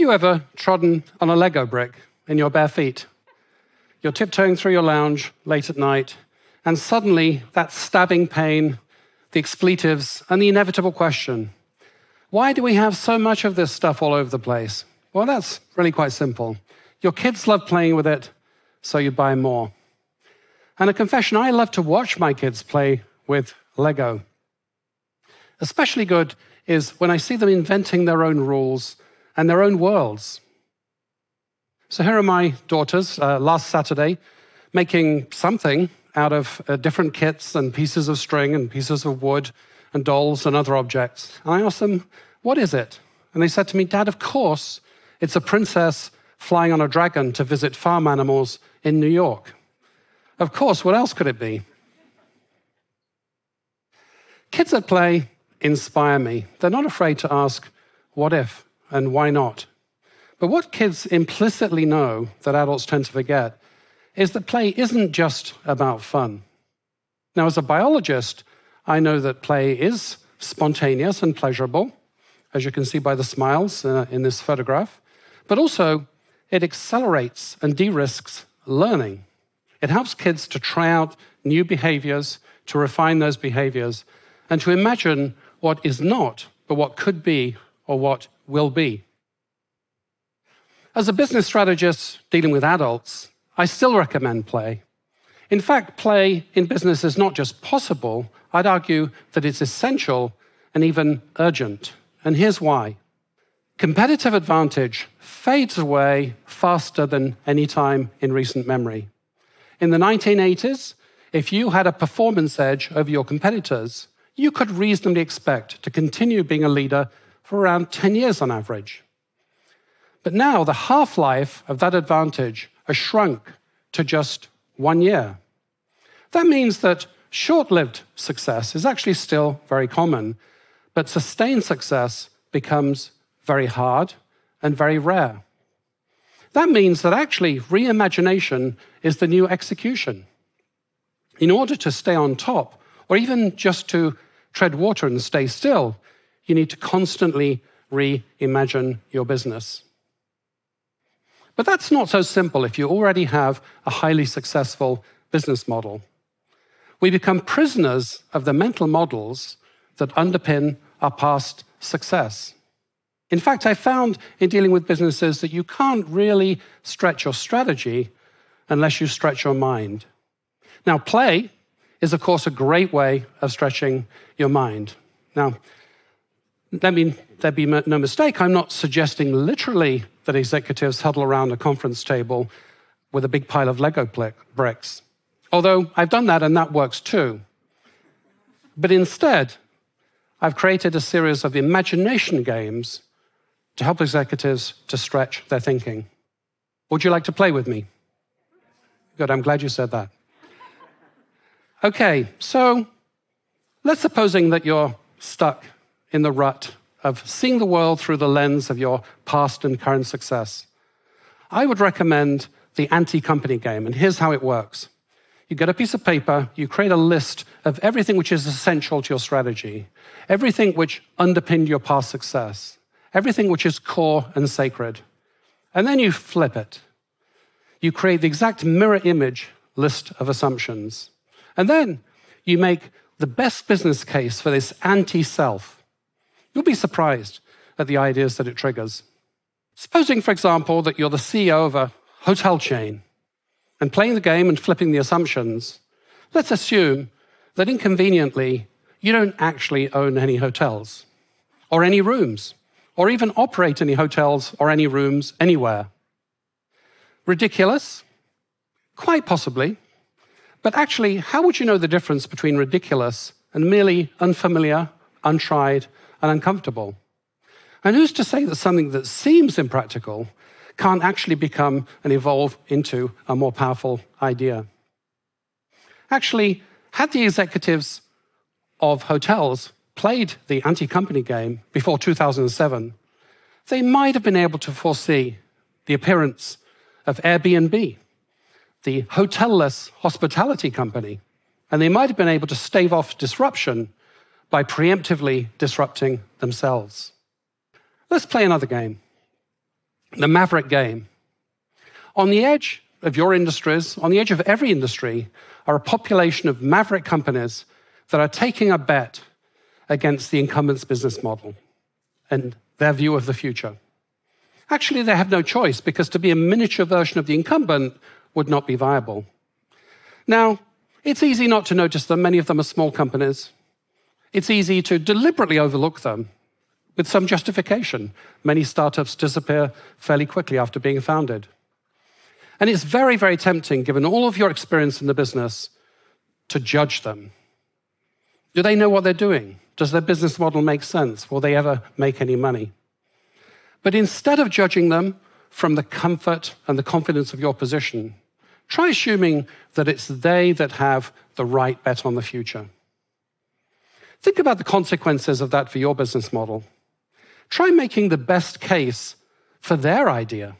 you ever trodden on a Lego brick in your bare feet? You're tiptoeing through your lounge late at night, and suddenly that stabbing pain, the expletives, and the inevitable question, why do we have so much of this stuff all over the place? Well, that's really quite simple. Your kids love playing with it, so you buy more. And a confession, I love to watch my kids play with Lego. Especially good is when I see them inventing their own rules and their own worlds. So here are my daughters, last Saturday, making something out of different kits and pieces of string and pieces of wood and dolls and other objects. And I asked them, what is it? And they said to me, Dad, of course, it's a princess flying on a dragon to visit farm animals in New York. Of course, what else could it be? Kids at play inspire me. They're not afraid to ask, what if and why not? But what kids implicitly know that adults tend to forget is that play isn't just about fun. Now, as a biologist, I know that play is spontaneous and pleasurable, as you can see by the smiles in this photograph, but also it accelerates and de-risks learning. It helps kids to try out new behaviors, to refine those behaviors, and to imagine what is not, but what could be or what will be. As a business strategist dealing with adults, I still recommend play. In fact, play in business is not just possible, I'd argue that it's essential and even urgent. And here's why. Competitive advantage fades away faster than any time in recent memory. In the 1980s, if you had a performance edge over your competitors, you could reasonably expect to continue being a leader for around 10 years on average. But now the half-life of that advantage has shrunk to just 1 year. That means that short-lived success is actually still very common, but sustained success becomes very hard and very rare. That means that actually reimagination is the new execution. In order to stay on top, or even just to tread water and stay still, you need to constantly reimagine your business. But that's not so simple if you already have a highly successful business model. We become prisoners of the mental models that underpin our past success. In fact, I found in dealing with businesses that you can't really stretch your strategy unless you stretch your mind. Now, play is, of course, a great way of stretching your mind. Now, there be no mistake, I'm not suggesting literally that executives huddle around a conference table with a big pile of Lego bricks, although I've done that and that works too. But instead, I've created a series of imagination games to help executives to stretch their thinking. Would you like to play with me? Good, I'm glad you said that. Okay, so let's supposing that you're stuck in the rut of seeing the world through the lens of your past and current success. I would recommend the anti-company game, and here's how it works. You get a piece of paper, you create a list of everything which is essential to your strategy, everything which underpinned your past success, everything which is core and sacred. And then you flip it. You create the exact mirror image list of assumptions. And then you make the best business case for this anti-self. You'll be surprised at the ideas that it triggers. Supposing, for example, that you're the CEO of a hotel chain, and playing the game and flipping the assumptions, let's assume that inconveniently, you don't actually own any hotels, or any rooms, or even operate any hotels or any rooms anywhere. Ridiculous? Quite possibly. But actually, how would you know the difference between ridiculous and merely unfamiliar, untried, and uncomfortable? And who's to say that something that seems impractical can't actually become and evolve into a more powerful idea? Actually, had the executives of hotels played the anti-company game before 2007, they might have been able to foresee the appearance of Airbnb, the hotelless hospitality company, and they might have been able to stave off disruption by preemptively disrupting themselves. Let's play another game. the maverick game. On the edge of your industries, on the edge of every industry, are a population of maverick companies that are taking a bet against the incumbent's business model and their view of the future. Actually, they have no choice, because to be a miniature version of the incumbent would not be viable. Now, it's easy not to notice them. Many of them are small companies. It's easy to deliberately overlook them with some justification. Many startups disappear fairly quickly after being founded. And it's very, very tempting, given all of your experience in the business, to judge them. Do they know what they're doing? Does their business model make sense? Will they ever make any money? But instead of judging them from the comfort and the confidence of your position, try assuming that it's they that have the right bet on the future. Think about the consequences of that for your business model. Try making the best case for their idea.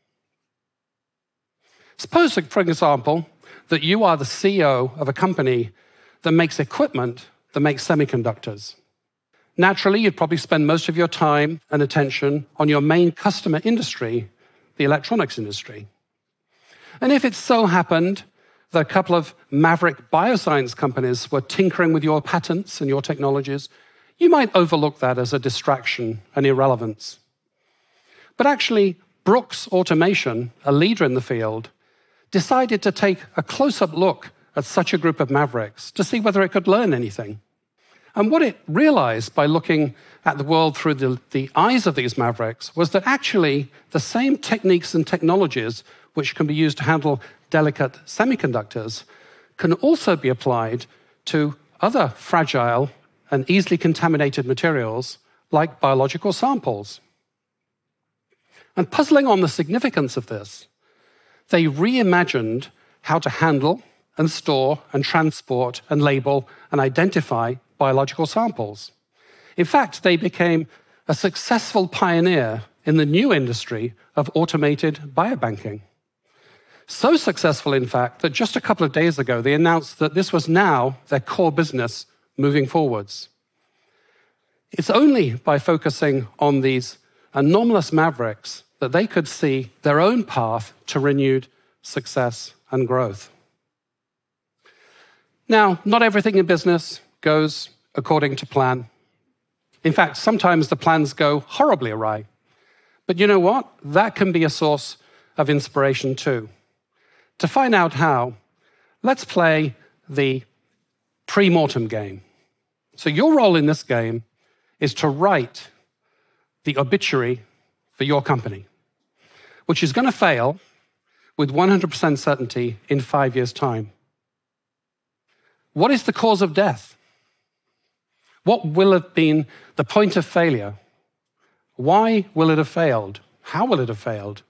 Suppose, for example, that you are the CEO of a company that makes equipment that makes semiconductors. Naturally, you'd probably spend most of your time and attention on your main customer industry, the electronics industry. And if it so happened that a couple of maverick bioscience companies were tinkering with your patents and your technologies, you might overlook that as a distraction and irrelevance. But actually, Brooks Automation, a leader in the field, decided to take a close-up look at such a group of mavericks to see whether it could learn anything. And what it realized by looking at the world through the eyes of these mavericks was that actually the same techniques and technologies which can be used to handle delicate semiconductors can also be applied to other fragile and easily contaminated materials like biological samples. And puzzling on the significance of this, they reimagined how to handle and store and transport and label and identify biological samples. In fact, they became a successful pioneer in the new industry of automated biobanking. So successful, in fact, that just a couple of days ago, they announced that this was now their core business moving forwards. It's only by focusing on these anomalous mavericks that they could see their own path to renewed success and growth. Now, not everything in business goes according to plan. In fact, sometimes the plans go horribly awry. But you know what? That can be a source of inspiration too. To find out how, let's play the pre-mortem game. So your role in this game is to write the obituary for your company, which is going to fail with 100% certainty in 5 years' time. What is the cause of death? What will have been the point of failure? Why will it have failed? How will it have failed?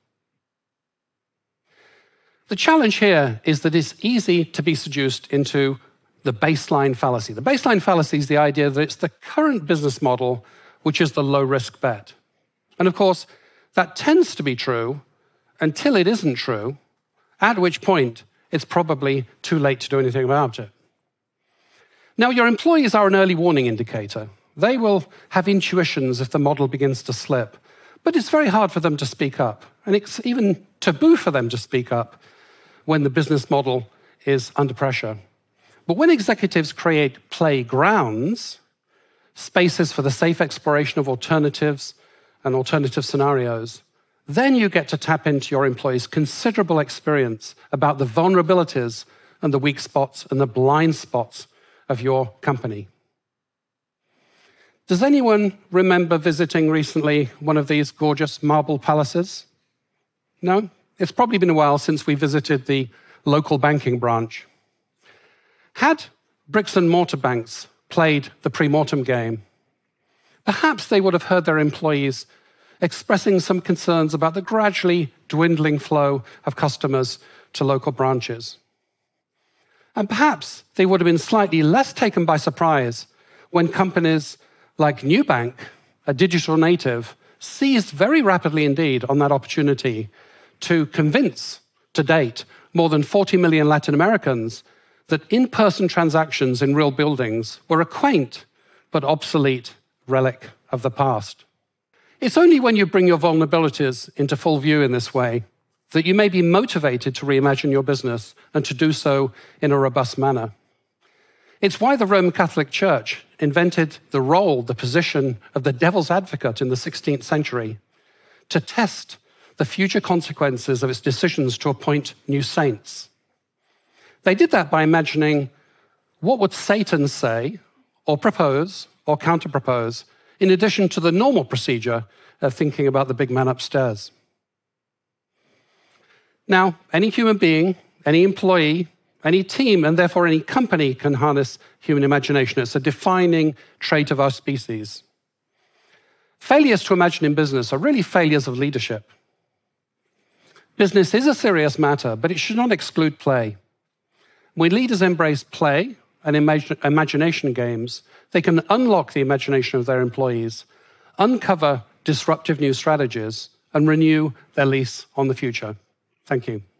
The challenge here is that it's easy to be seduced into the baseline fallacy. The baseline fallacy is the idea that it's the current business model which is the low-risk bet. And of course, that tends to be true until it isn't true, at which point it's probably too late to do anything about it. Now, your employees are an early warning indicator. They will have intuitions if the model begins to slip, but it's very hard for them to speak up. And it's even taboo for them to speak up when the business model is under pressure. But when executives create playgrounds, spaces for the safe exploration of alternatives and alternative scenarios, then you get to tap into your employees' considerable experience about the vulnerabilities and the weak spots and the blind spots of your company. Does anyone remember visiting recently one of these gorgeous marble palaces? No? It's probably been a while since we visited the local banking branch. Had bricks and mortar banks played the pre-mortem game, perhaps they would have heard their employees expressing some concerns about the gradually dwindling flow of customers to local branches. And perhaps they would have been slightly less taken by surprise when companies like Nubank, a digital native, seized very rapidly indeed on that opportunity to convince, to date, more than 40 million Latin Americans that in-person transactions in real buildings were a quaint but obsolete relic of the past. It's only when you bring your vulnerabilities into full view in this way that you may be motivated to reimagine your business and to do so in a robust manner. It's why the Roman Catholic Church invented the role, the position of the devil's advocate in the 16th century to test the future consequences of its decisions to appoint new saints. They did that by imagining what would Satan say or propose or counter-propose in addition to the normal procedure of thinking about the big man upstairs. Now, any human being, any employee, any team, and therefore any company can harness human imagination. It's a defining trait of our species. Failures to imagine in business are really failures of leadership. Business is a serious matter, but it should not exclude play. When leaders embrace play and imagination games, they can unlock the imagination of their employees, uncover disruptive new strategies, and renew their lease on the future. Thank you.